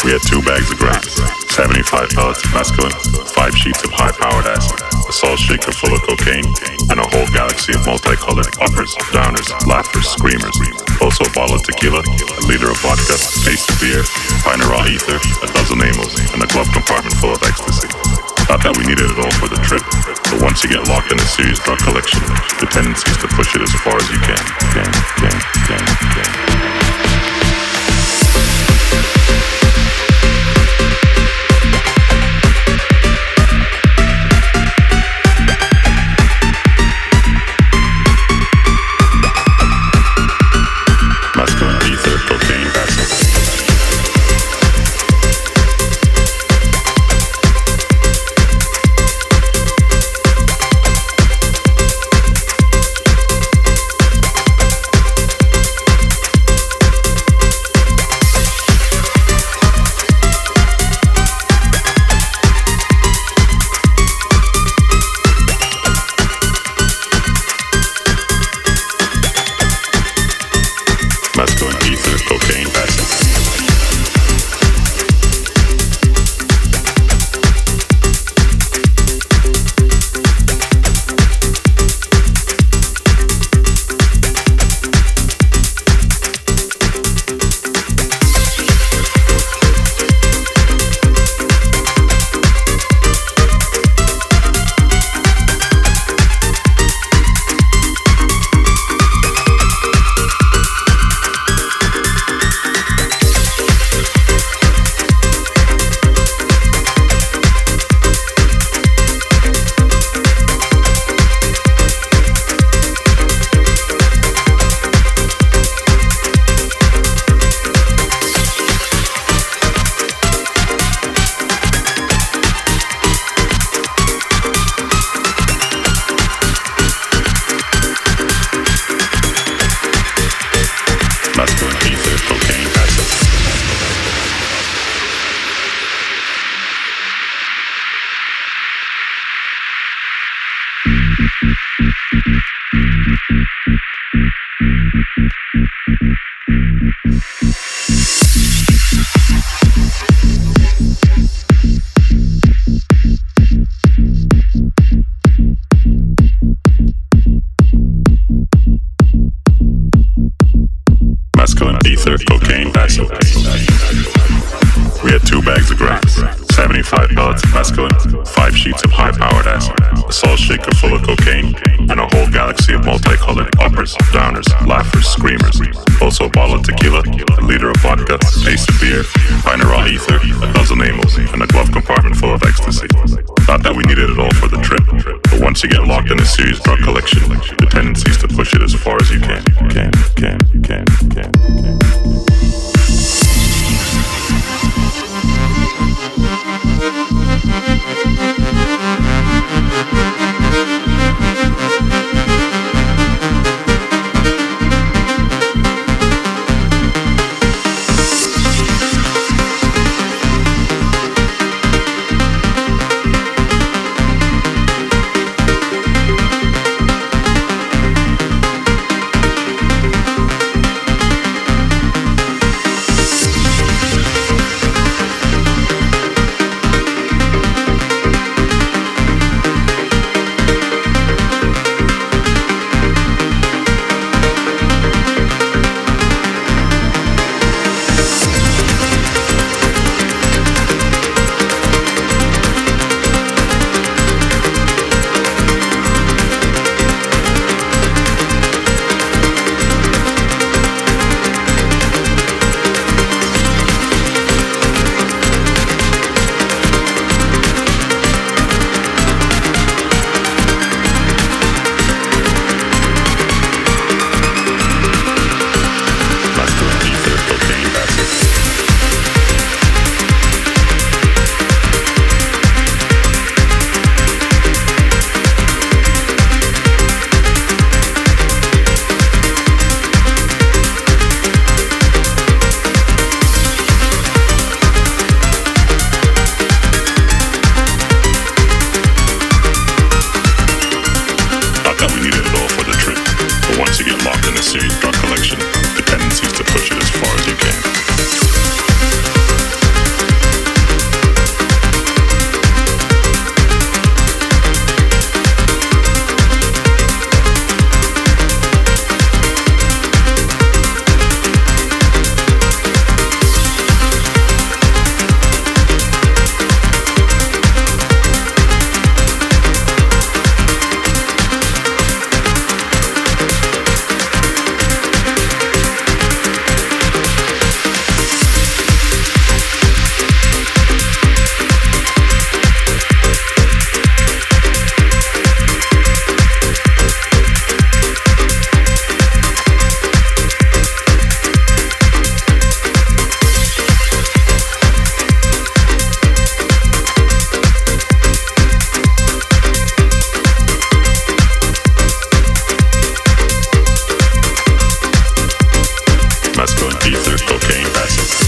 We had 2 bags of grapes, 75 pellets of mescaline, 5 sheets of high-powered acid, a salt shaker full of cocaine, and a whole galaxy of multicolored uppers, downers, laughers, screamers. Also a bottle of tequila, a liter of vodka, a case of beer, a pint of raw ether, a dozen amyls, and a glove compartment full of ecstasy. Not that we needed it all for the trip, but once you get locked in a serious drug collection, the tendency is to push it as far as you can. We had 2 bags of grapes, 75 pellets of mescaline, 5 sheets of high-powered acid, a salt shaker full of cocaine, and a whole galaxy of multicolored uppers, downers, laughers, screamers. Also a bottle of tequila, a liter of vodka, a case of beer, a pint of raw ether, a dozen amyls, and a glove compartment full of ecstasy. Not that we needed it all for the trip, but once you get locked in a serious drug collection, the tendency is to push it as far as you can. to cocaine acid.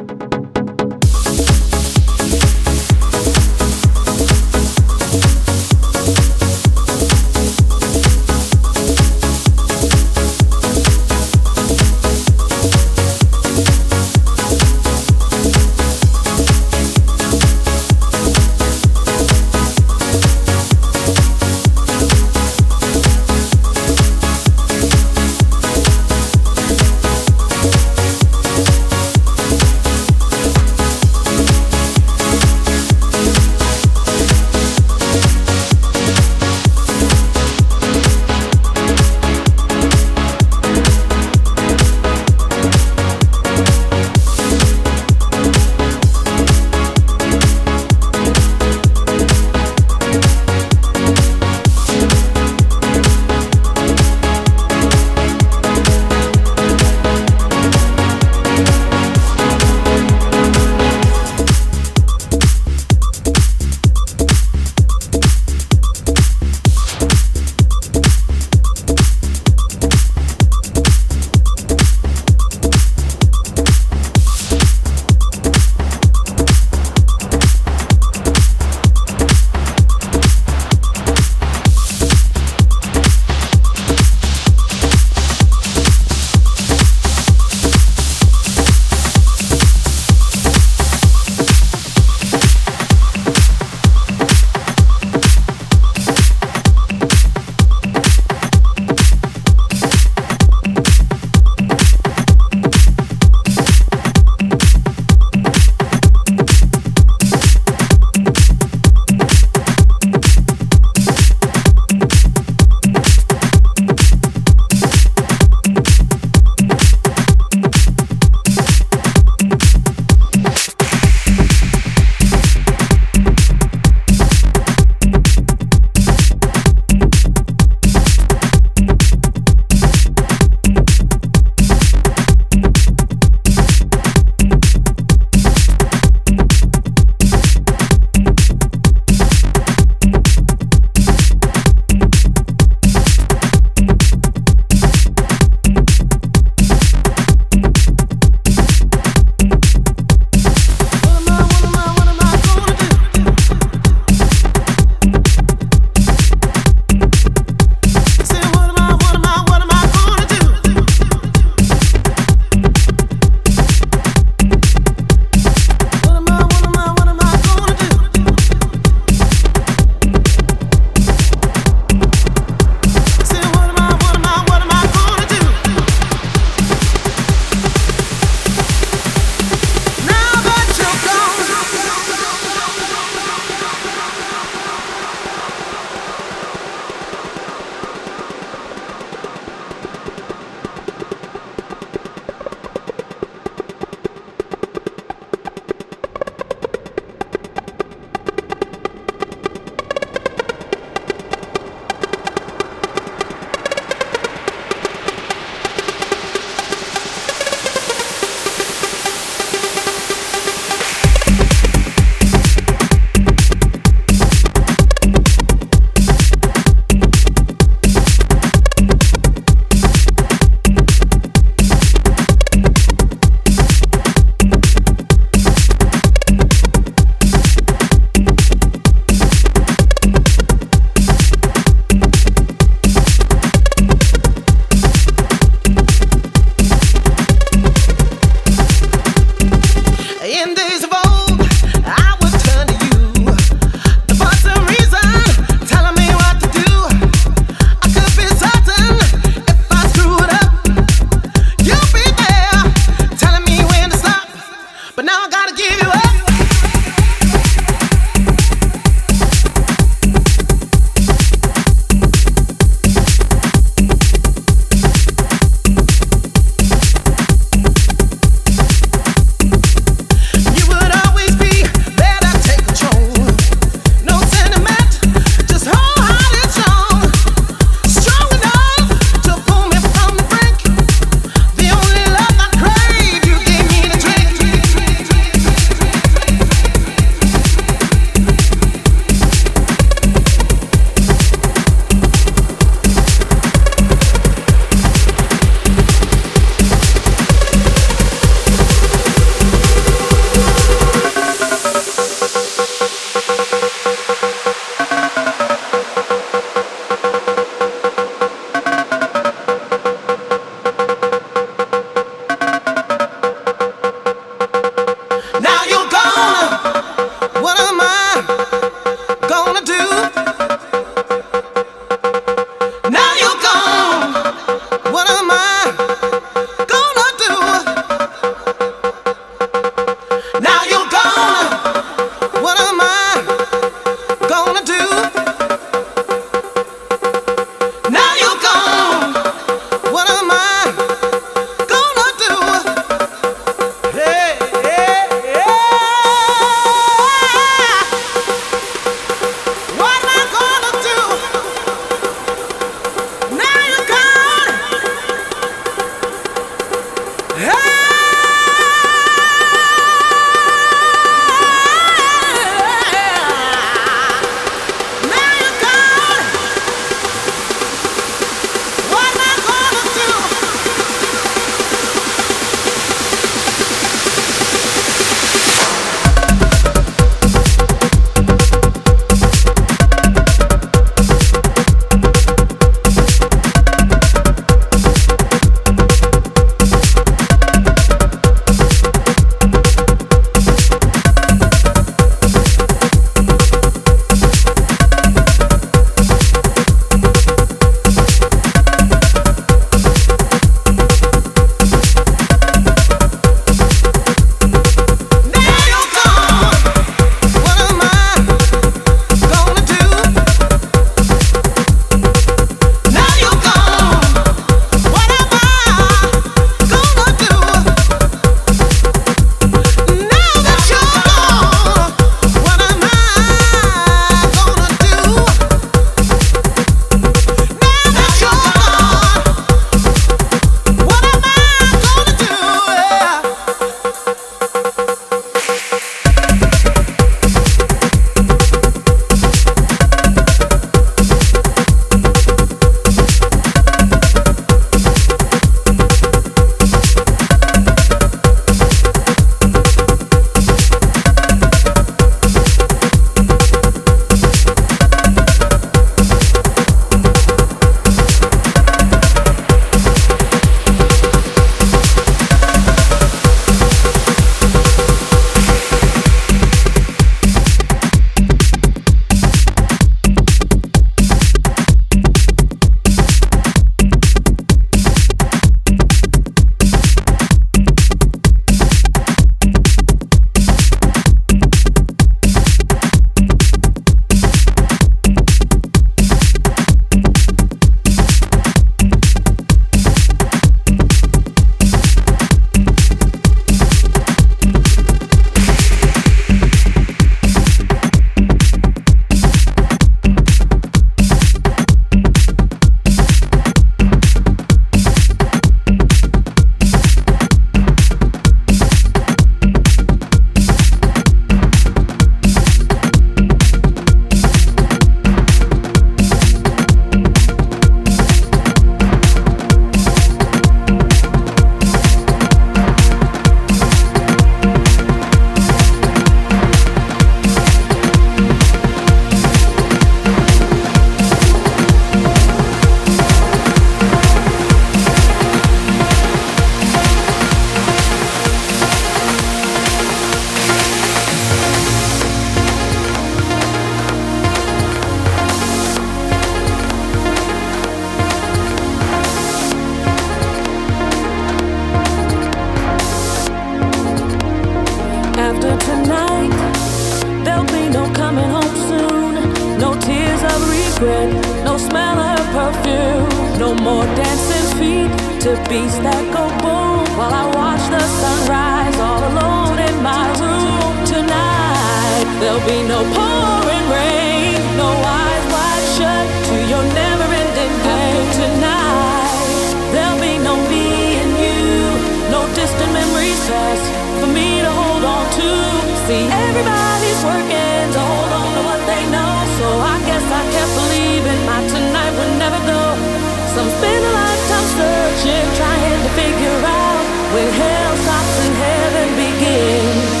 No more dancing feet to beats that go boom while I watch the sunrise all alone in my room. Tonight there'll be no pouring rain, no eyes wide shut to your never-ending game. Tonight there'll be no me and you, no distant memories past for me to hold on to. See, everybody's working to hold on to what they know, so I guess I kept believing my tonight would never go. Some spend a lifetime searching, trying to figure out when hell stops and heaven begins.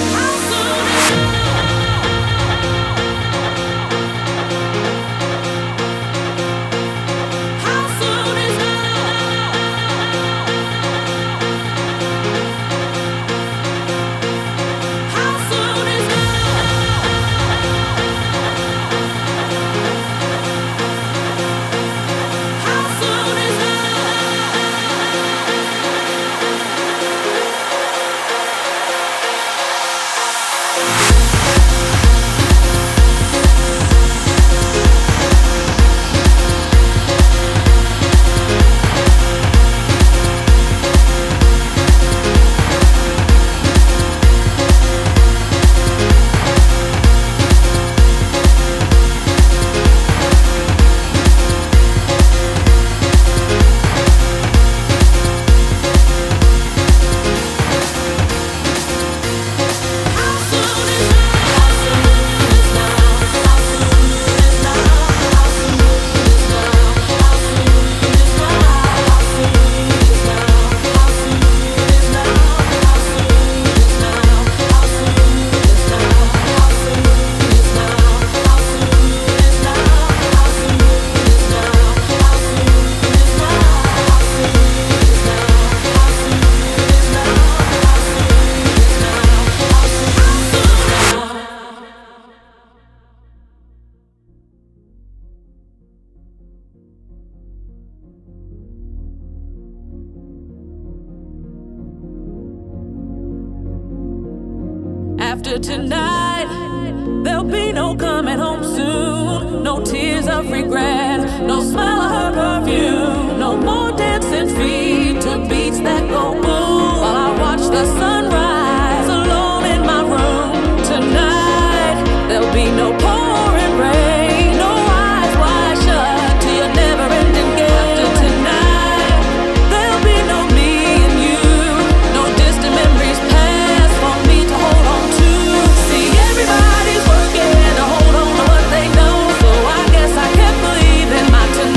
After tonight, there'll be no coming home soon. No tears of regret, no smell of her perfume. No more dancing feet to beats that go boom while I watch the sunrise alone in my room. Tonight, there'll be no pouring rain, no eyes wide shut to your never-ending game. After tonight, there'll be no me and you, no distant memories past for me to hold on to. See, everybody's working to hold on to what they know, so I guess I kept believing my tonight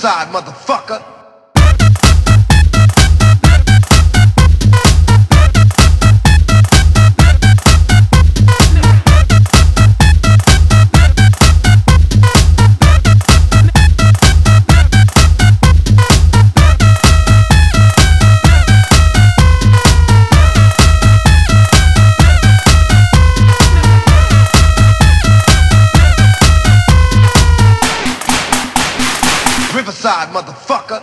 Riverside, motherfucker. Riverside, motherfucker.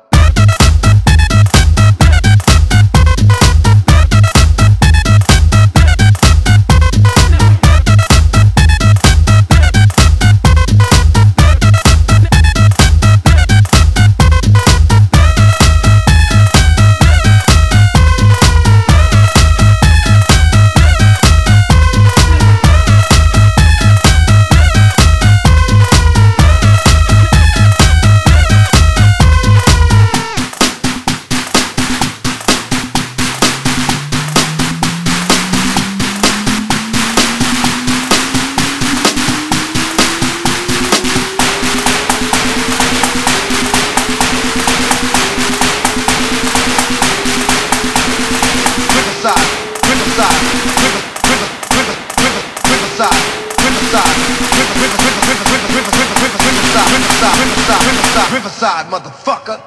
Riverside, motherfucker.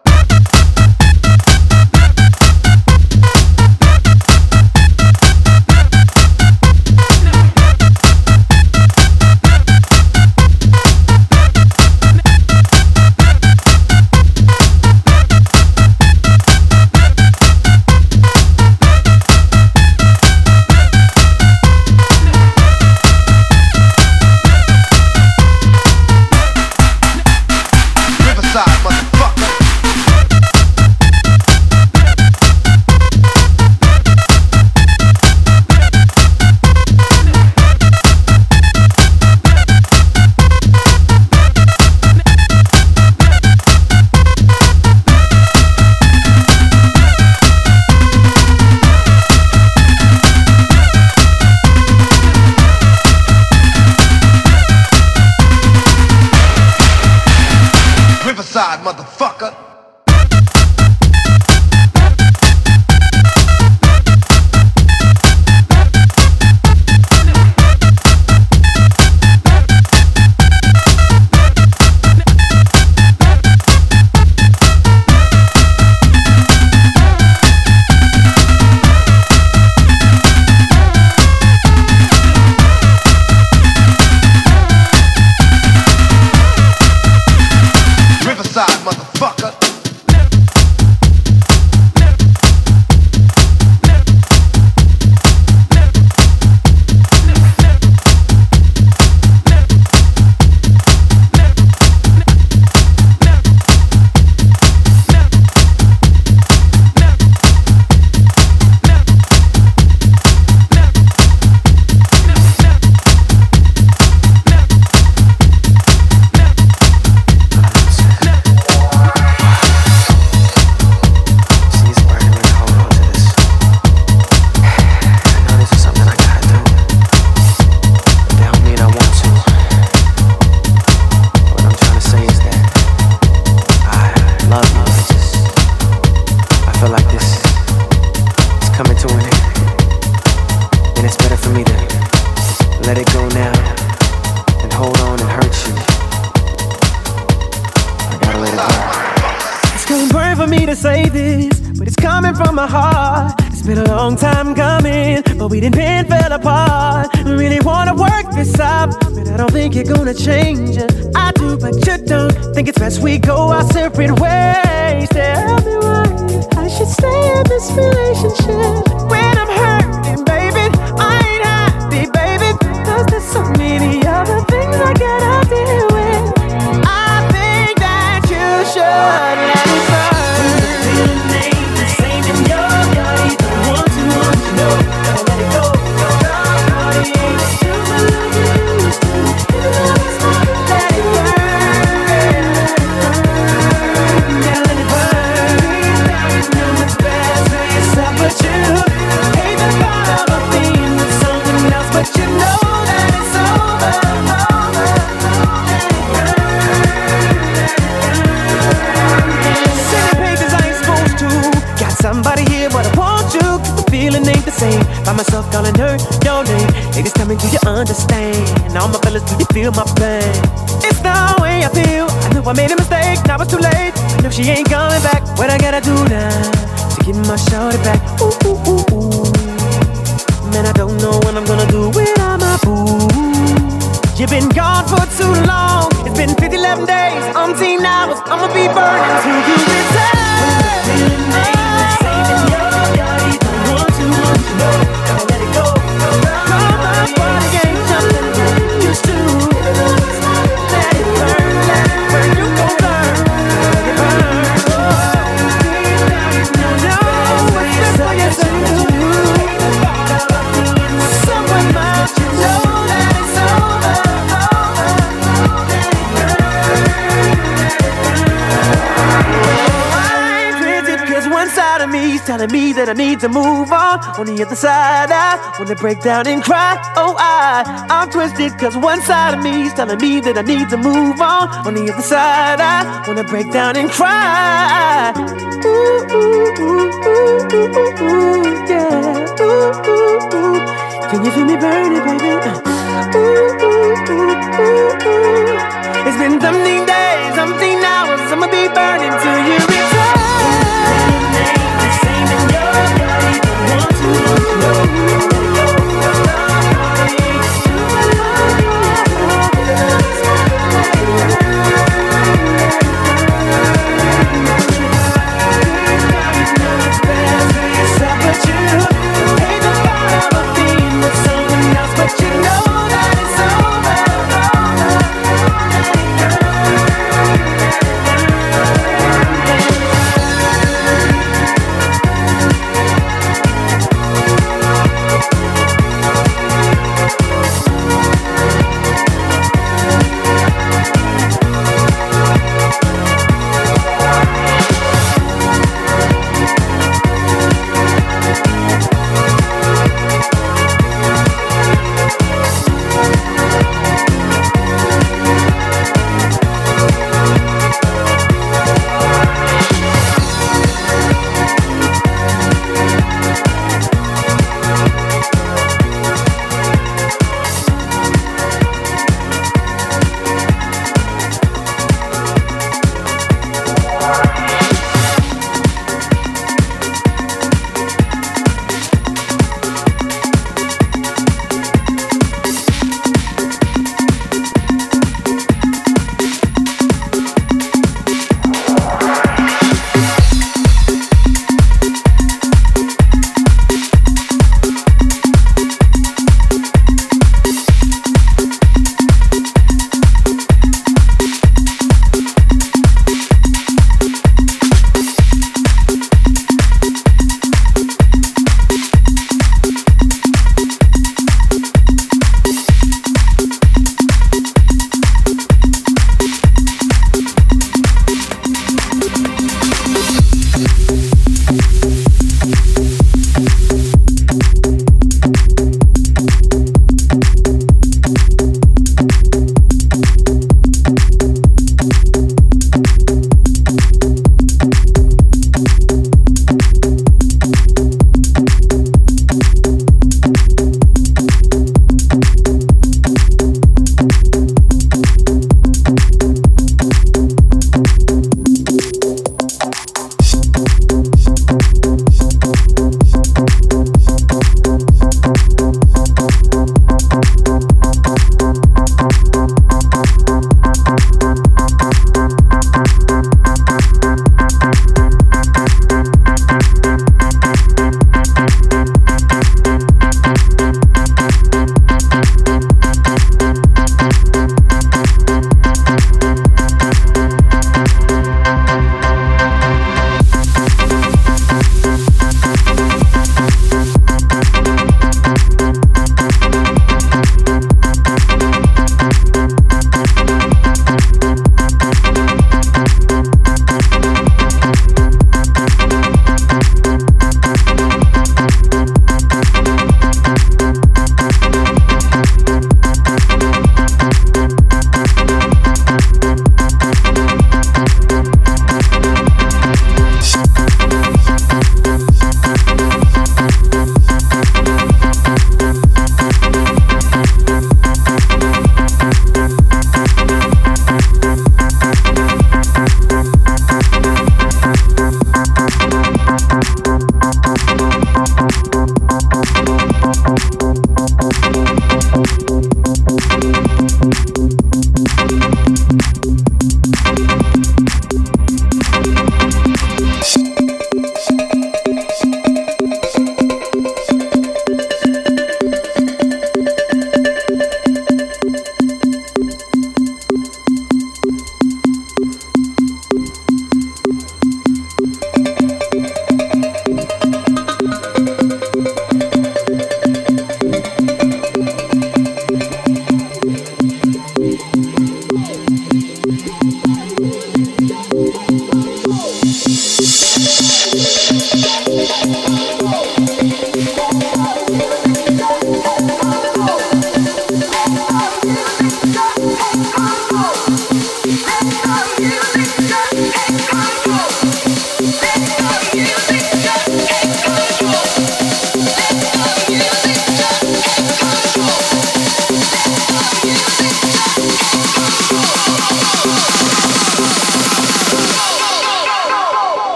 Riverside, motherfucker. Riverside, motherfucker. Say this, but it's coming from my heart. It's been a long time coming, but we didn't bend, fell apart. I really wanna work this out, but I don't think you're gonna change it. I do, but you don't. Think it's best we go our separate ways. Tell me why I should stay in this relationship when I'm hurting, baby. I ain't happy, baby, 'cause there's so many other things I gotta deal with. I think that you should let me go. myself calling her your name. Ladies, tell me, do you understand? All my fellas, do you feel my pain? It's the way I feel. I knew I made a mistake, now it's too late. I know she ain't coming back. What I gotta do now to get my shorty back? Ooh, ooh, ooh, ooh. Man, I don't know what I'm gonna do without my boo. You've been gone for too long. It's been 11 days, umpteen hours. I'ma be burning till you return. Saving your body, don't want to know. Gotta let it go. Come my body ain't something that used to. Let it burn, you gon' learn. Let it burn. No, it's just what you say to you. Someone might you know that it's over. One side of me is telling me that I need to move on. On the other side, I wanna break down and cry. Oh, I'm twisted, cause one side of me is telling me that I need to move on. On the other side, I wanna break down and cry. Ooh, ooh, ooh, ooh, ooh, ooh, yeah. Ooh, ooh, ooh. Can you feel me burning, baby? Ooh, ooh, ooh, ooh, ooh. It's been something days, something hours. I'ma be burning till you return.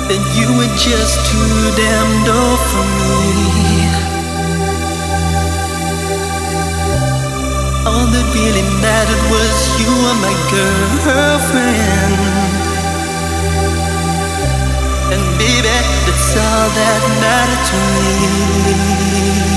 then you were just too damn dull for me. All that really mattered was you were my girlfriend. And baby, that's all that mattered to me.